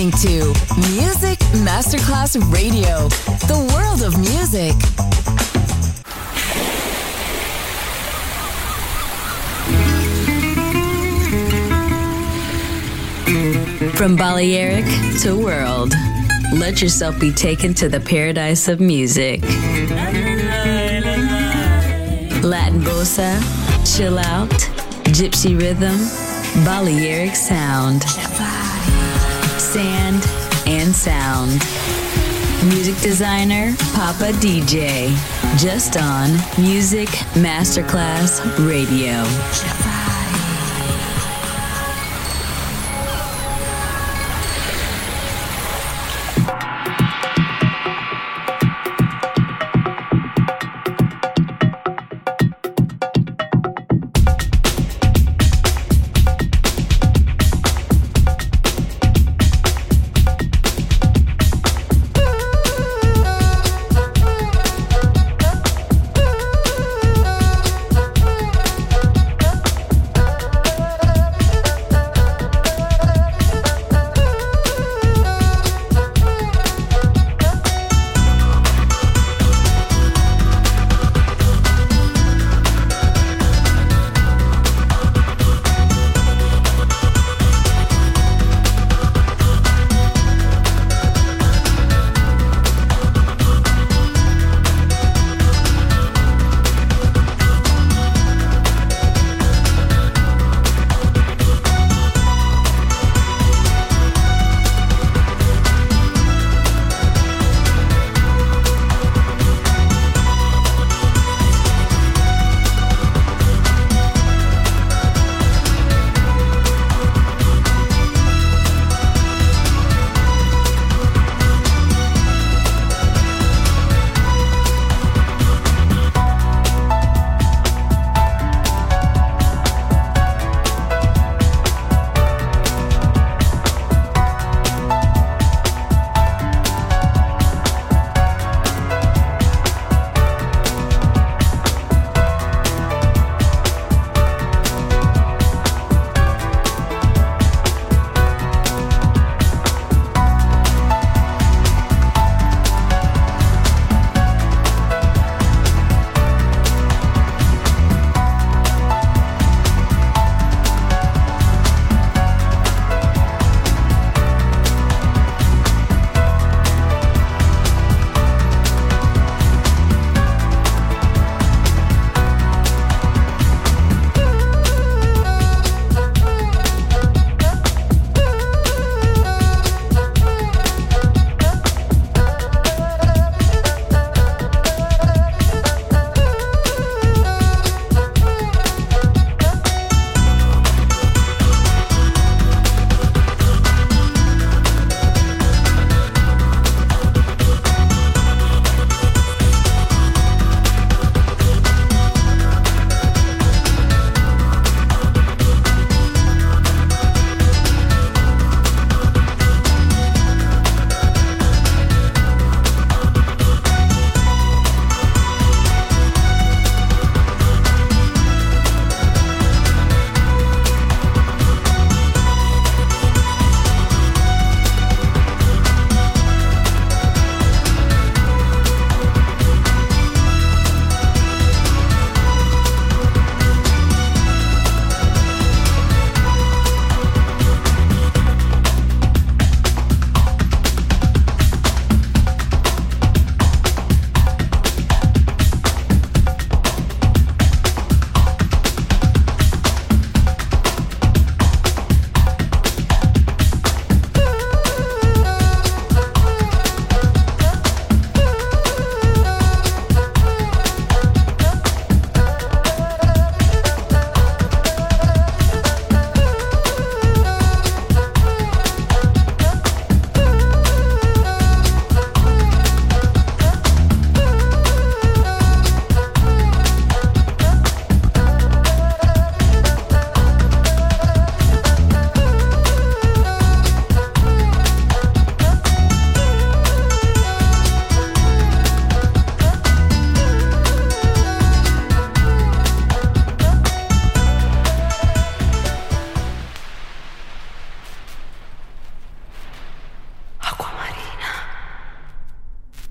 listening to Music Masterclass Radio, the world of music. From Balearic to world, let yourself be taken to the paradise of music. Latin bossa, chill out, gypsy rhythm, Balearic sound, sand and sound. Music designer, Papa DJ, just on Music Masterclass Radio.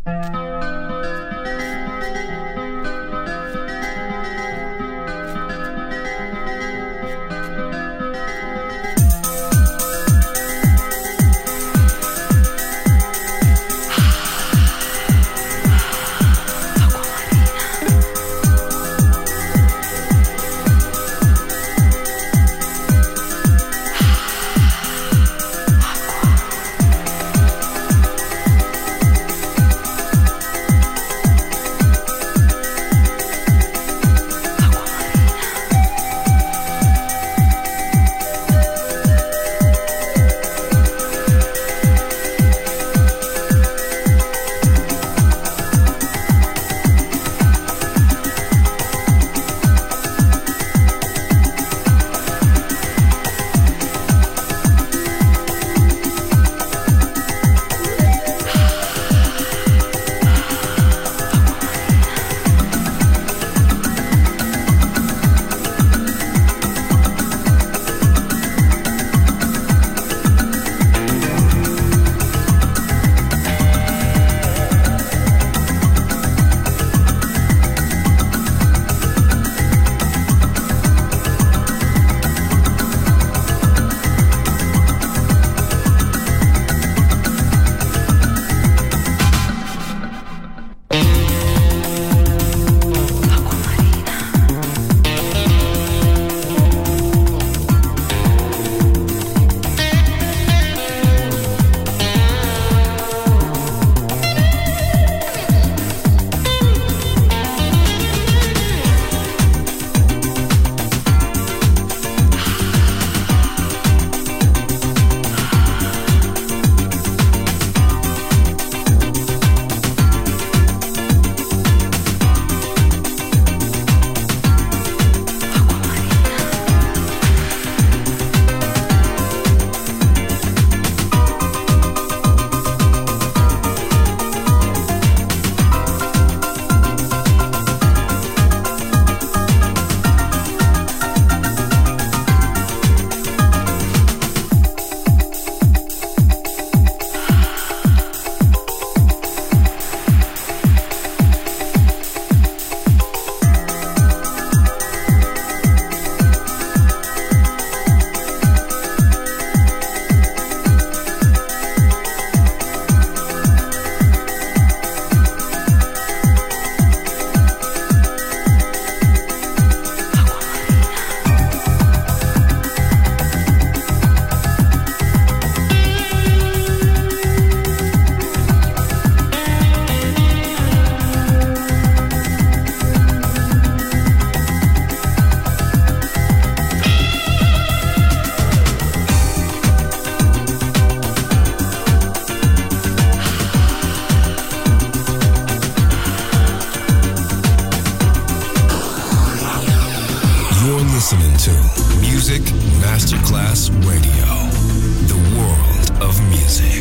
listening to Music Masterclass Radio, the world of music.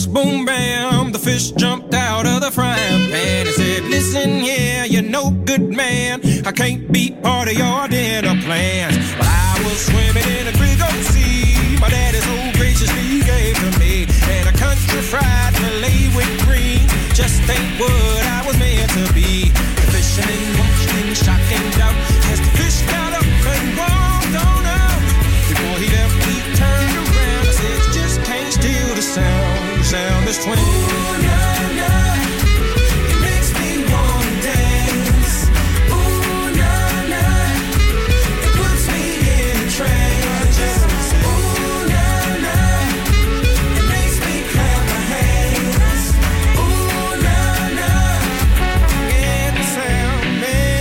Boss, boom, bam, the fish jumped out of the frying pan and said, listen here, you're no good man, I can't be part of your dinner plans. But I was swimming in a big old sea, my daddy so graciously gave to me, and a country fried fillet with green just ain't what I was meant to be. The fisherman watched in shock and doubt as the fish got up and walked on out. Before he left, he turned around and said, you just can't steal the sound. The sound is twin. Ooh, nah, nah. It makes me wanna dance. Ooh, nah, nah. It puts me in a trance. Ooh, nah, nah. It makes me clap my hands. Ooh, nah, nah. Yeah, the sound, man.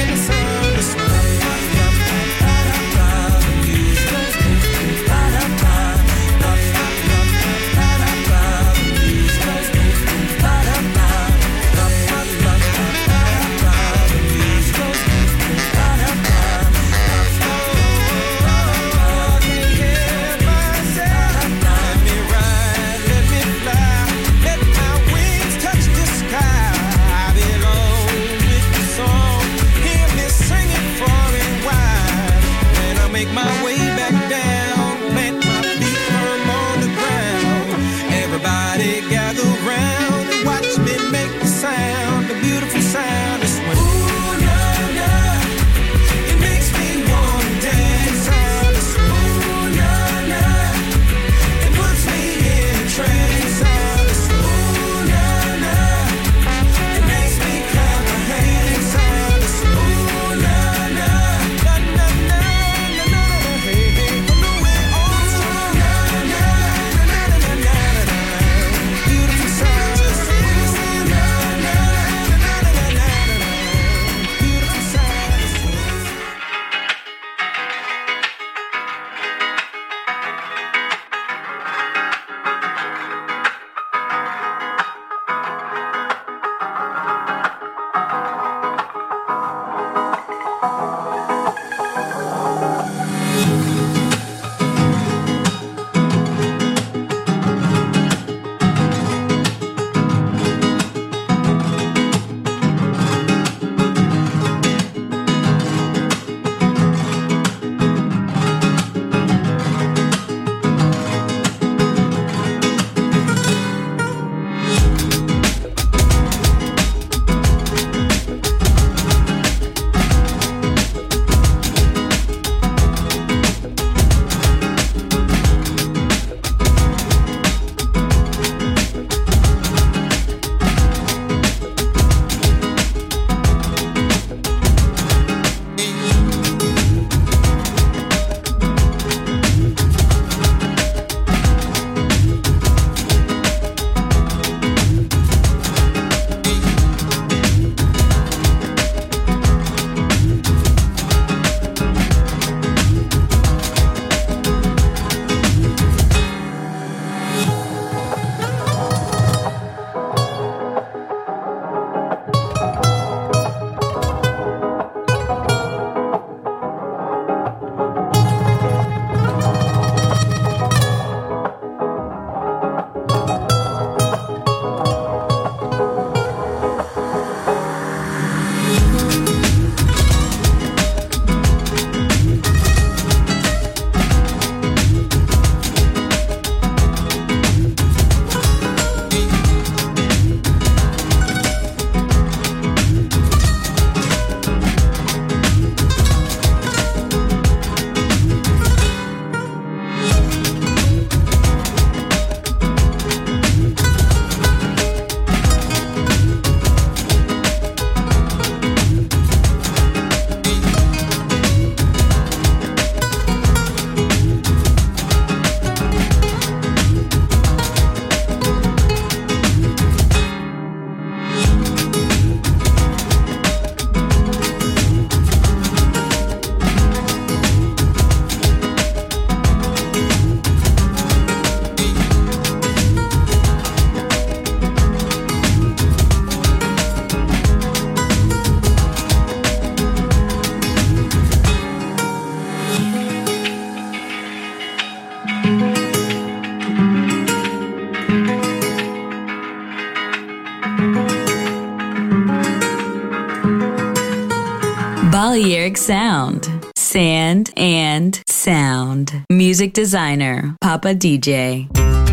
Balearic Sound. Sand and sound. Music designer, Papa DJ.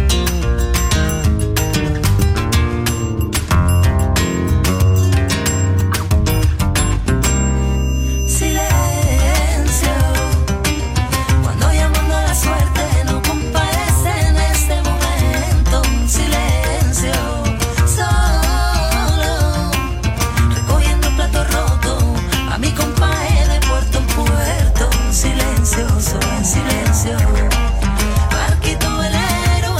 Solo en silencio, barquito velero,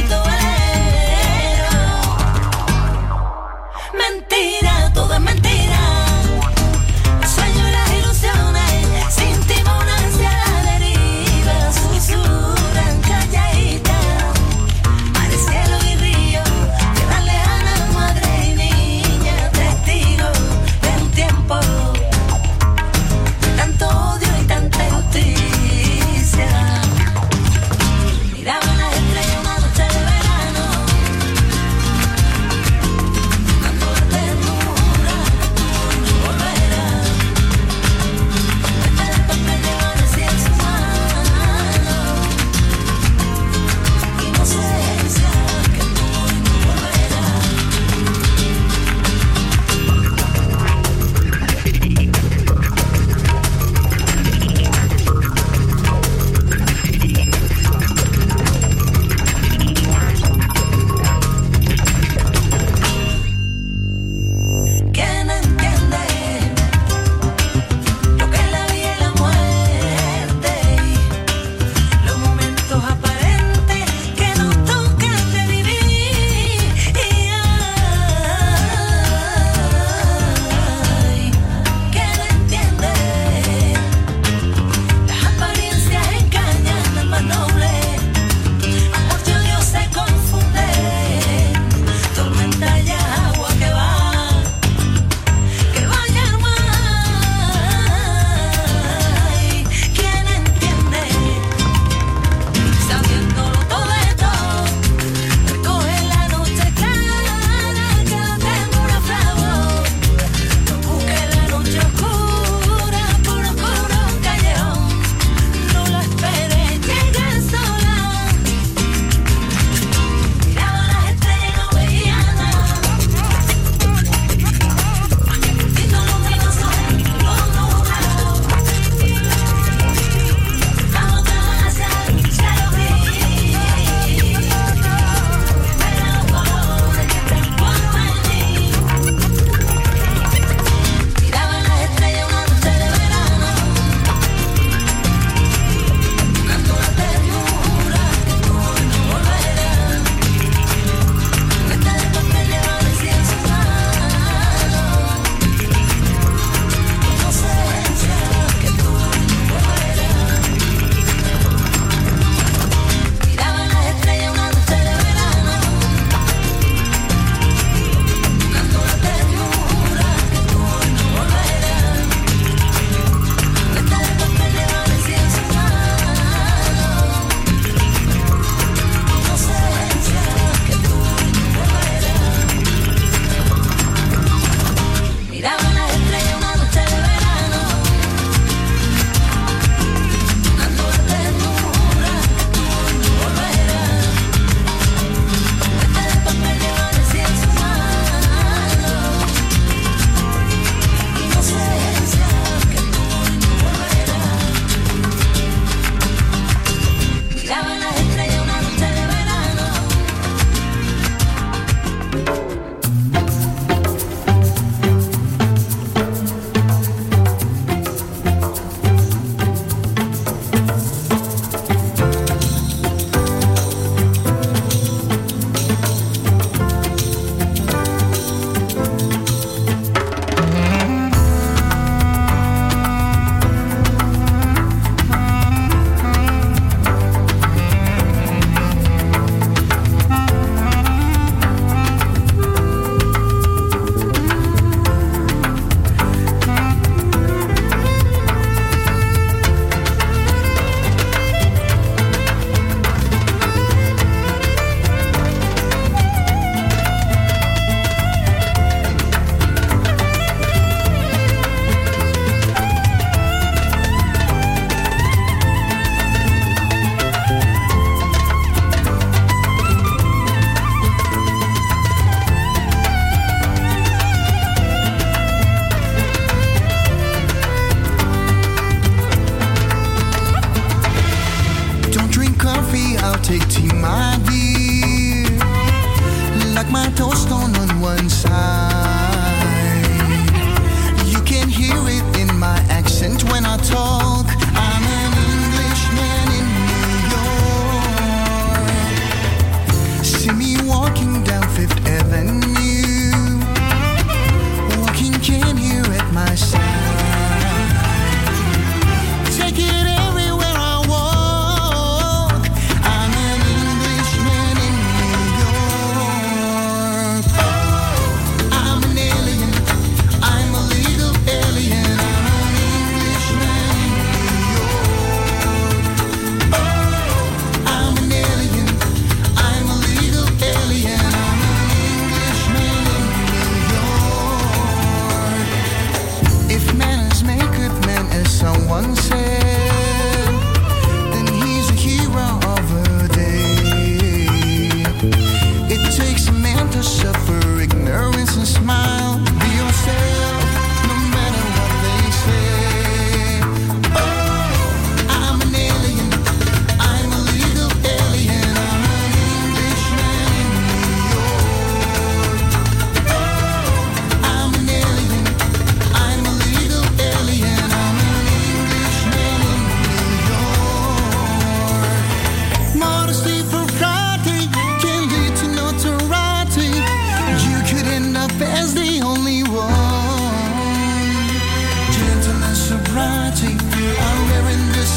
mentira, todo es mentira, el sueño y las ilusiones, sin timón hacia la deriva, susurran calladitas, mares, cielo y río, tierra lejana, madre y niña, testigos de un tiempo, tanto odio y tanta injusticia. Miraban las estrellas una noche de verano, dando la ternura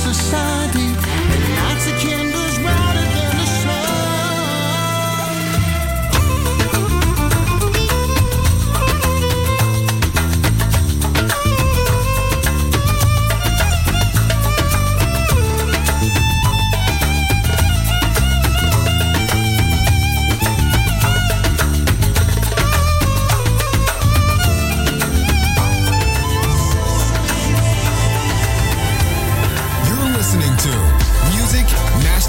society, and nights of candles brighter than the You're listening to Music Master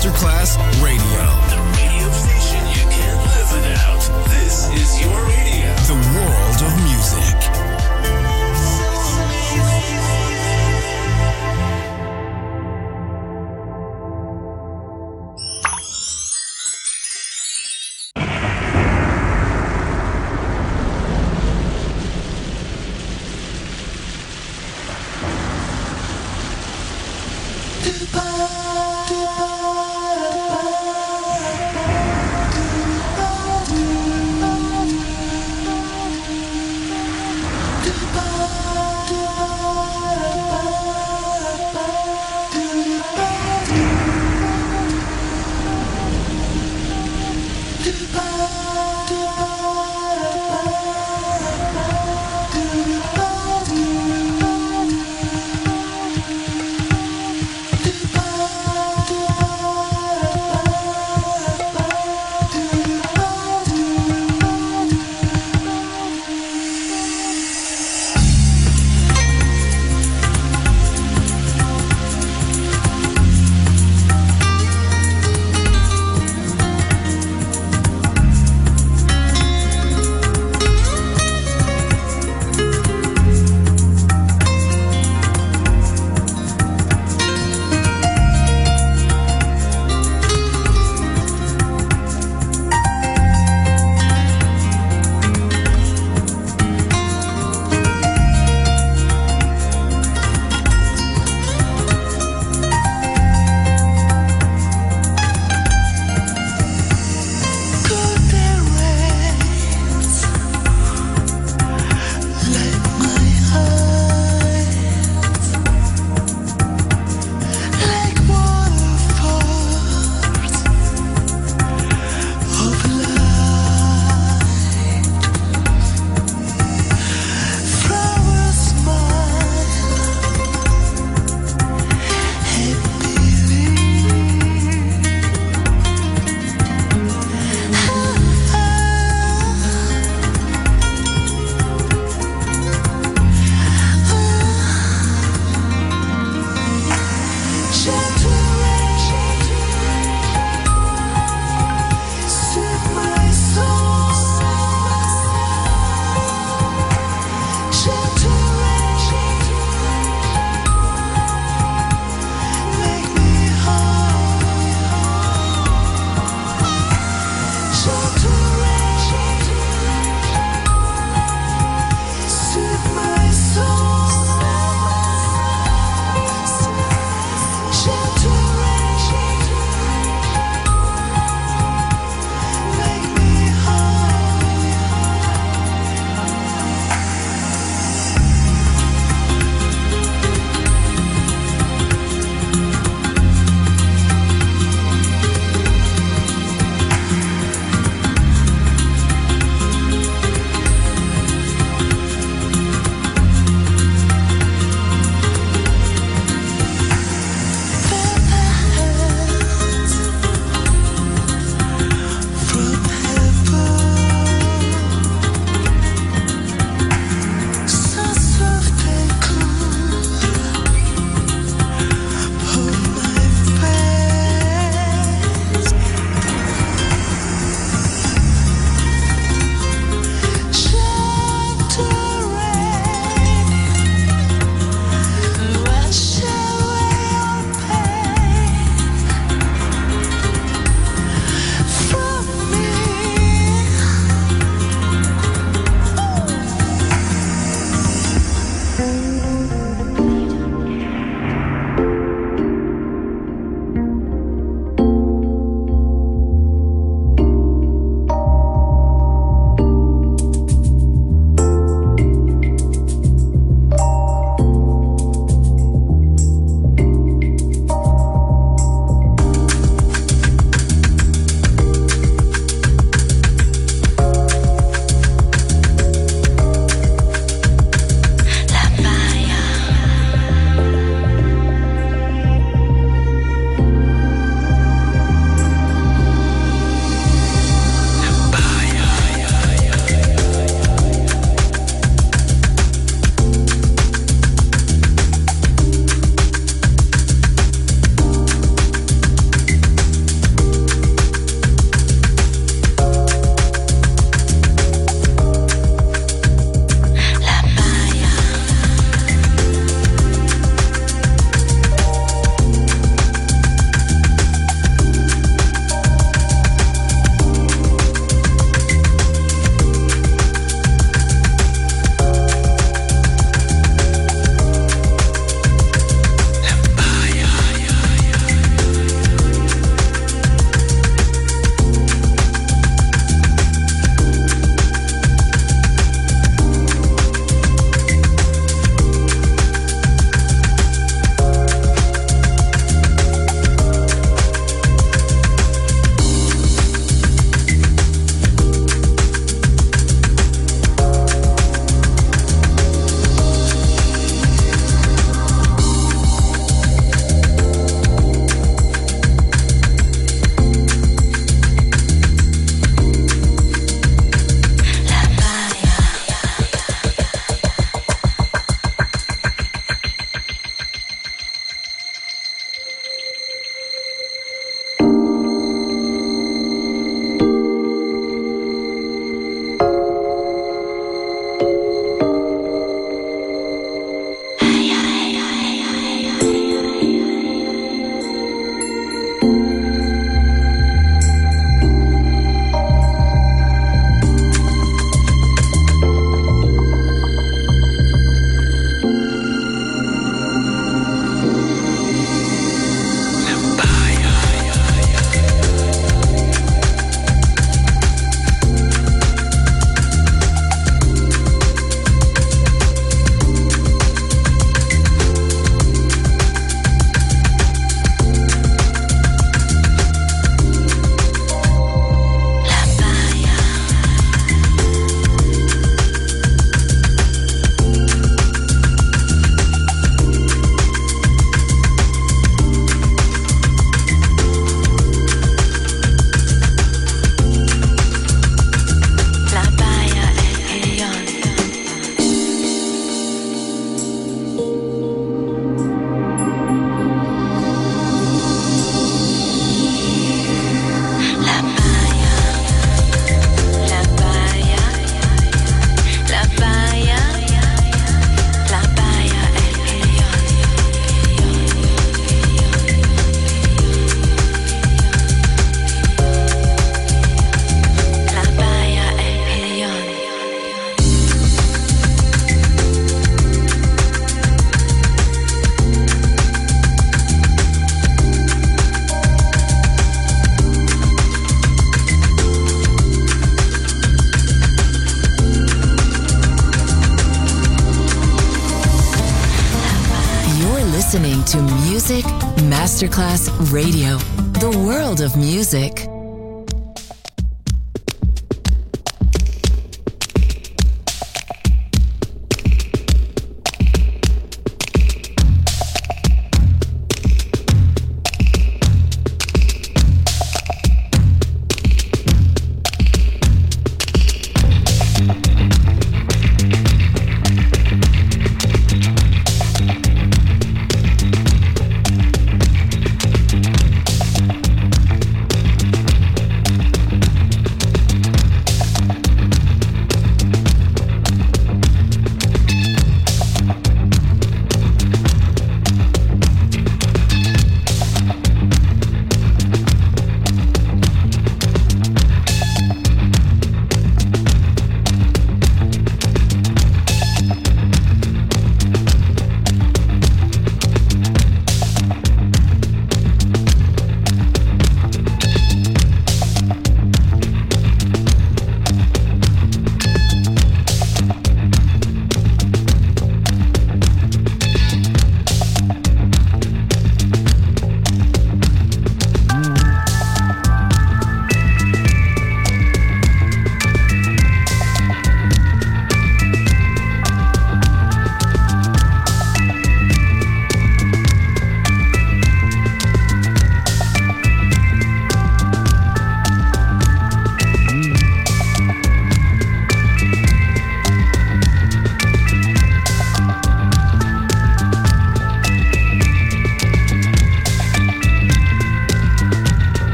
listening to Music Masterclass Radio, the world of music.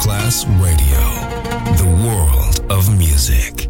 Masterclass Radio, the world of music.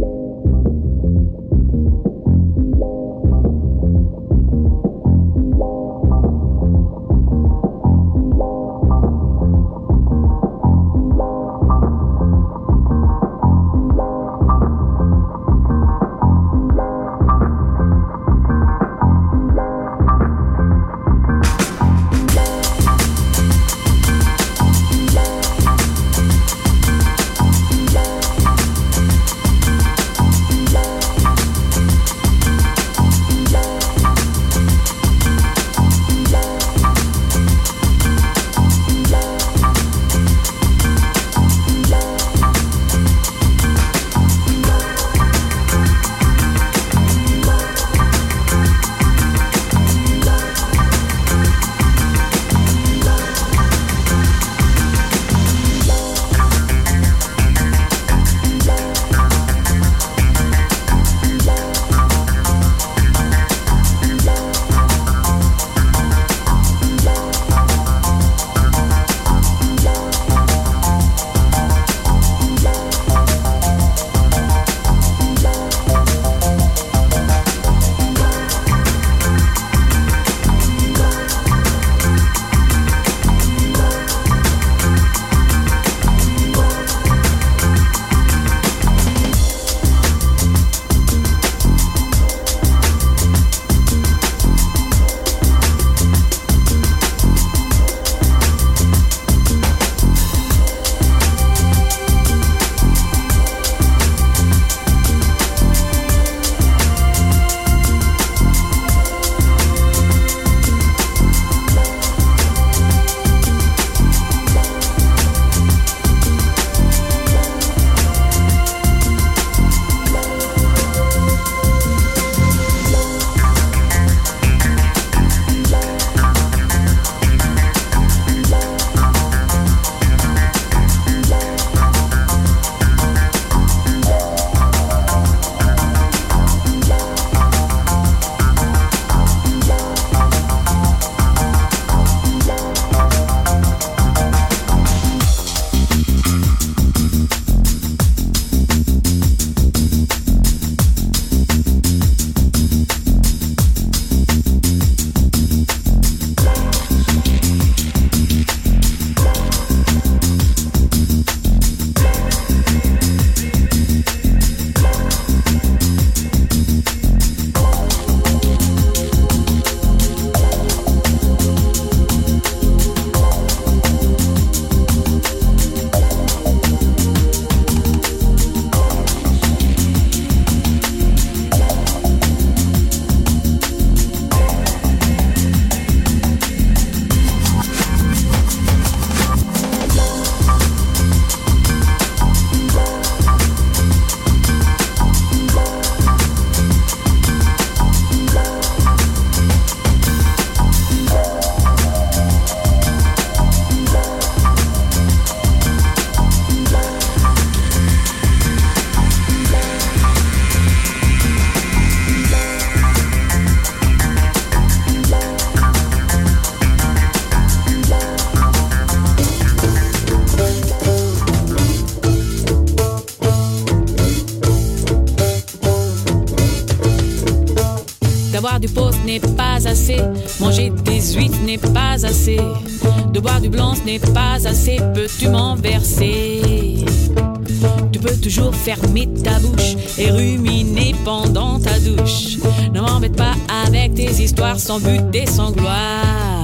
D'avoir du pot, ce n'est pas assez. Manger des huîtres n'est pas assez. De boire du blanc, ce n'est pas assez. Peux-tu m'en verser? Tu peux toujours fermer ta bouche et ruminer pendant ta douche. Ne m'embête pas avec tes histoires sans but et sans gloire.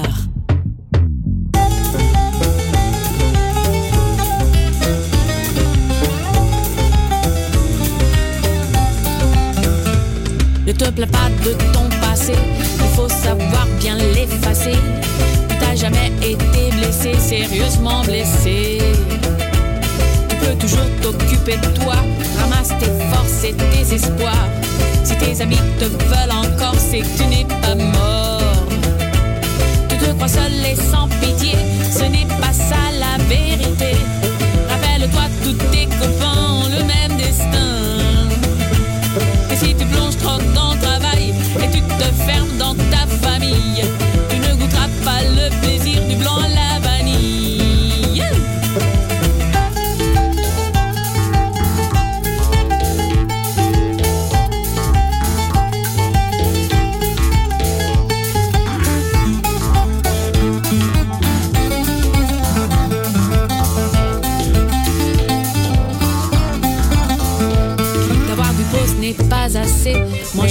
Ne te plains pas de ton passé, il faut savoir bien l'effacer. Tu t'as jamais été blessé, sérieusement blessé. Tu peux toujours t'occuper de toi, ramasse tes forces et tes espoirs. Si tes amis te veulent encore, c'est que tu n'es pas mort. Tu te crois seul et sans pitié, ce n'est pas ça la vérité. Rappelle-toi, tous tes copains ont le même destin. Et si tu plonges trop dans le travail et tu te fermes dans ta famille, tu ne goûteras pas le plaisir du blanc à la vanille.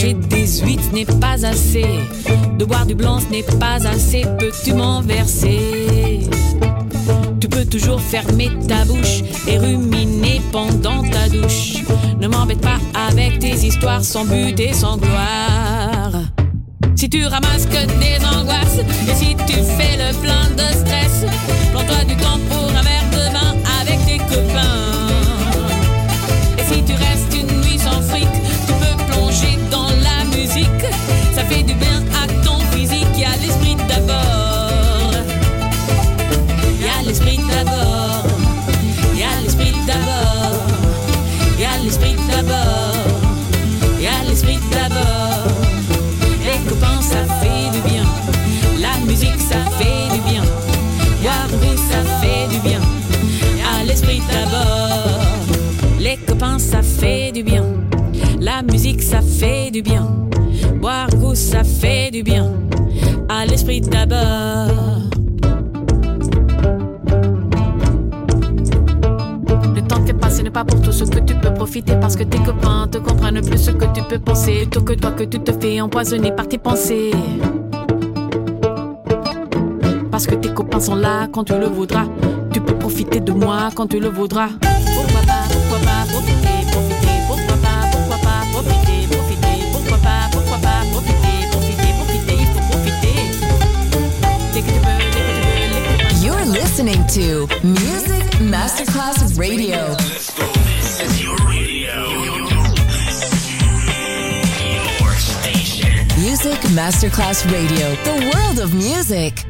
manger des huîtres, ce n'est pas assez. De boire du blanc, ce n'est pas assez. Peux-tu m'en verser? Tu peux toujours fermer ta bouche et ruminer pendant ta douche. Ne m'embête pas avec tes histoires sans but et sans gloire. Si tu ramasses que des angoisses et si tu fais le plein de stress, prends-toi du temps pour un verre de vin avec tes copains. Et si tu restes une nuit sans fric, tu peux plonger dans la musique. Ça fait du bien à ton physique. Y a l'esprit d'abord. Y a l'esprit d'abord. Y a l'esprit d'abord. Y a l'esprit d'abord. Y a l'esprit d'abord. Les copains, ça fait du bien. La musique, ça fait du bien. Boire goût, ça fait du bien. À l'esprit d'abord. Les copains, ça fait du bien. La musique, ça fait du bien. Boire goût, ça fait du bien. À l'esprit d'abord. Le temps t'est passé n'est pas pour tout ce que tu peux profiter, parce que tes copains te comprennent plus ce que tu peux penser, plutôt que toi que tu te fais empoisonner par tes pensées. Parce que tes copains sont là quand tu le voudras. Tu peux profiter de moi quand tu le voudras. Pourquoi pas profiter, profiter. Pourquoi pas profiter, profiter. Pourquoi pas profiter, profiter. Il faut profiter. Dès que tu veux, dès que tu veux, les copains. You're listening to Music Masterclass Radio. Let's go. This is your radio. Your station. Music Masterclass Radio. The world of music.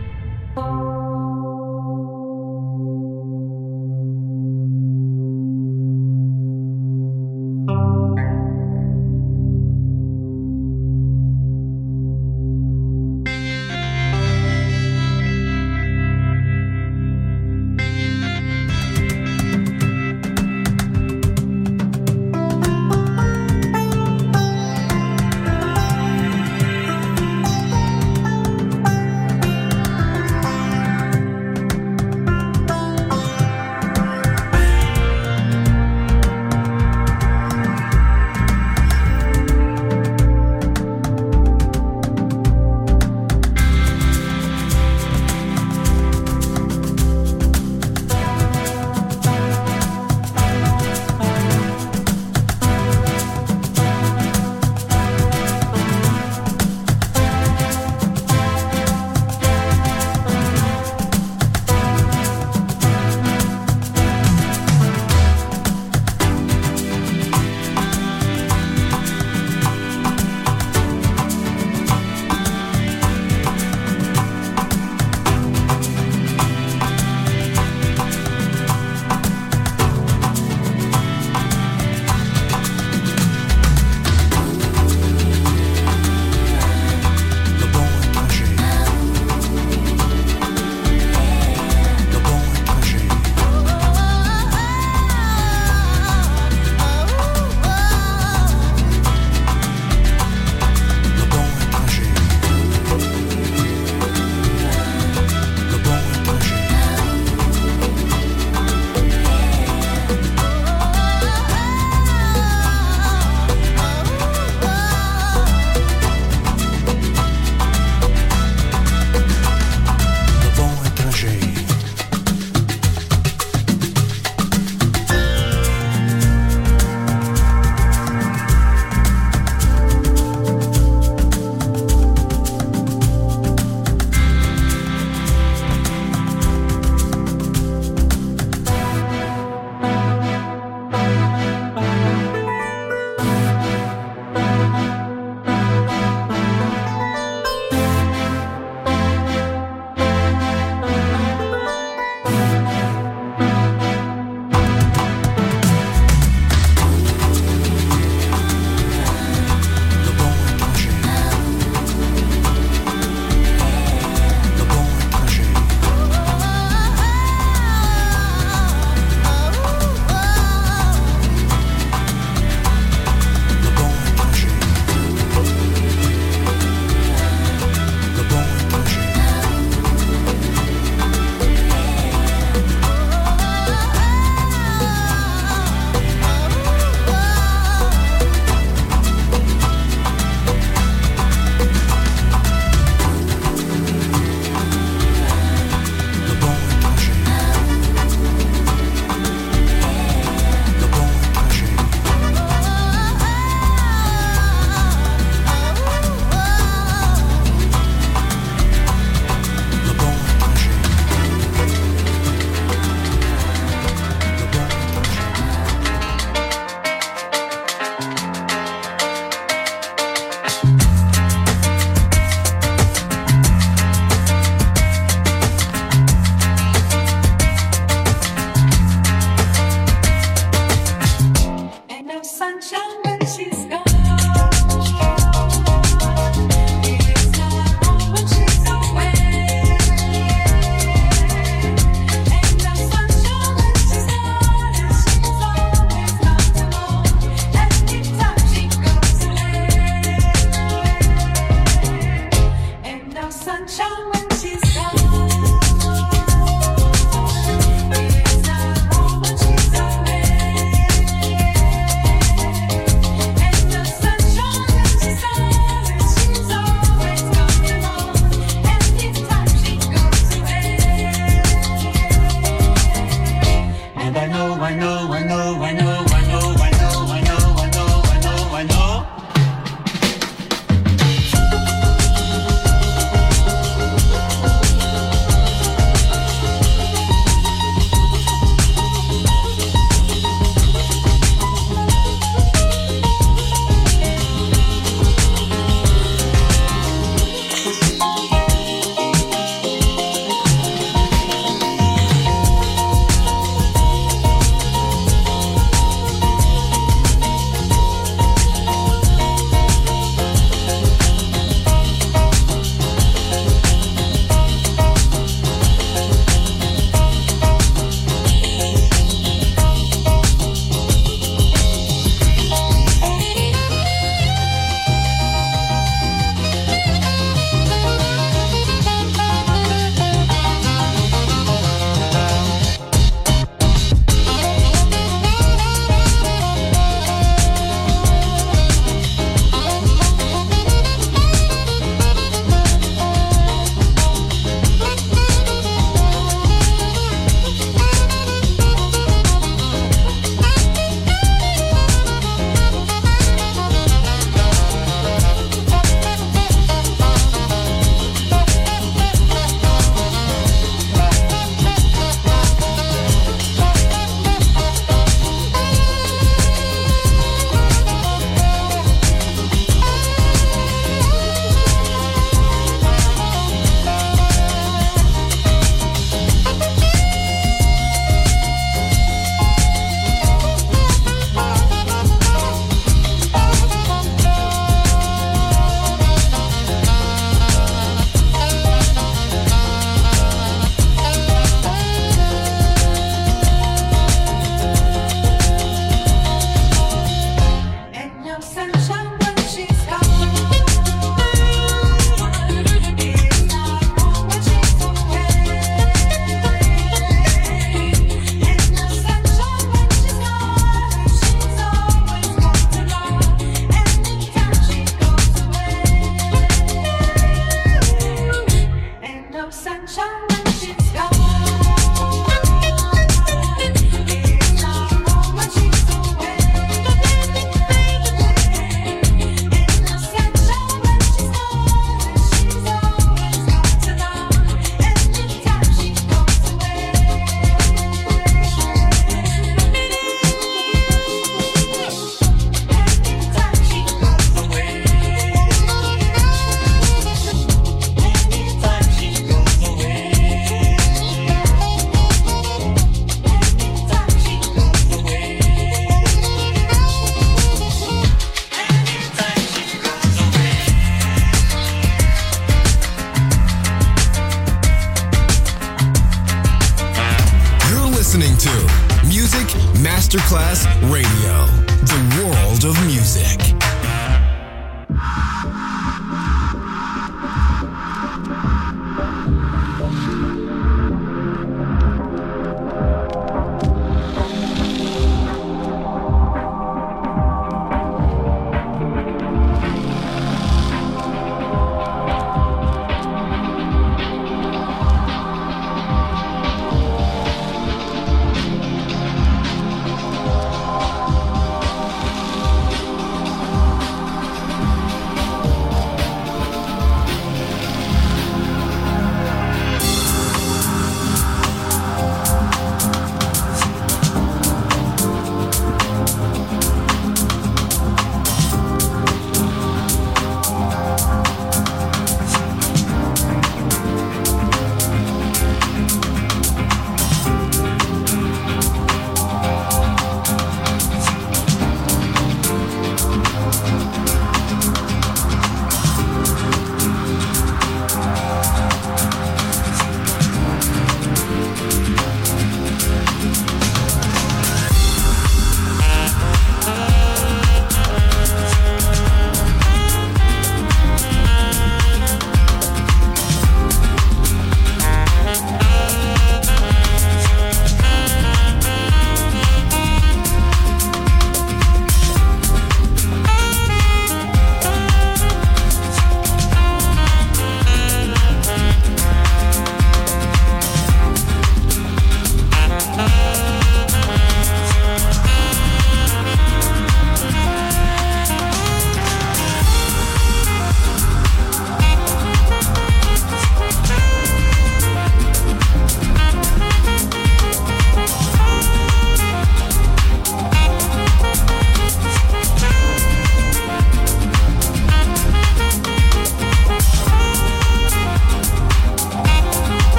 Masterclass Radio, the world of music.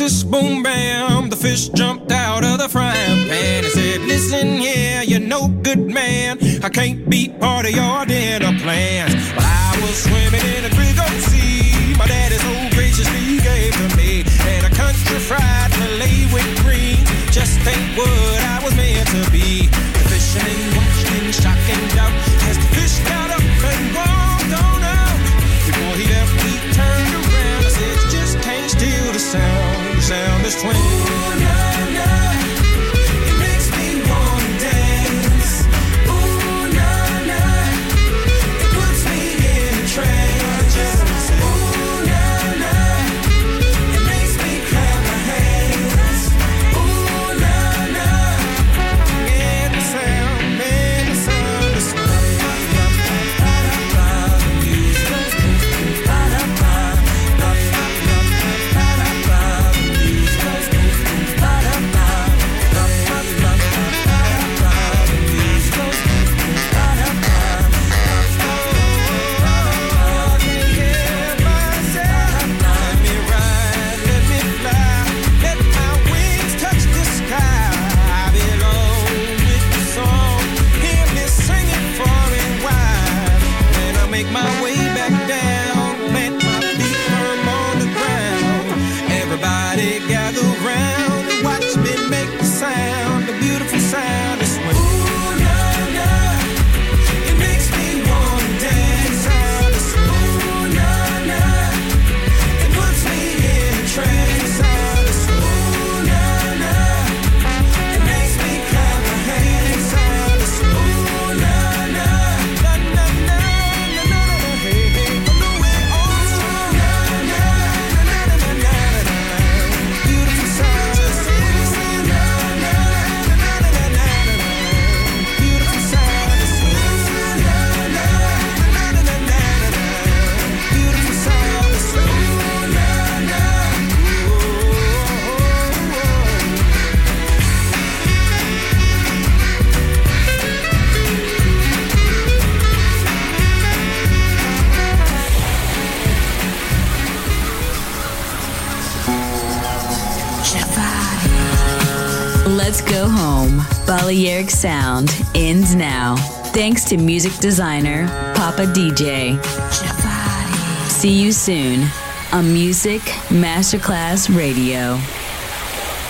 Texas, boom, bam, the fish jumped out of the frying pan and said, listen, yeah, you're no good man. I can't be part of your dinner plans. But I was swimming in a Big Old Sea. My daddy so graciously gave to me. And a country fried filet with greens just ain't what I was meant to be. The fisherman watched in shock and doubt as the fish got up and walked on out. Before he left, he turned around and said, you just can't steal the sound. The sound is twin. Ooh, nah, nah. It makes me wanna dance. Ooh, nah, nah. It puts me in a trance. Ooh, nah, nah. It makes me clap my hands. Ooh, nah, nah. And the sound is swing. Make my way back down, plant my feet firm on the ground. Everybody gather round and watch me make the sound, the beautiful sound of swing. Ooh, nah, nah, it makes me wanna dance. Sound of swing. Ooh, nah, nah, it puts me in a trance. Sound of swing. Ooh, nah, nah, it makes me clap my hands. Sound of swing. Ooh, nah, nah, nah, nah, nah. Let's go home. Balearic Sound ends now. Thanks to music designer Papa DJ. See you soon on Music Masterclass Radio.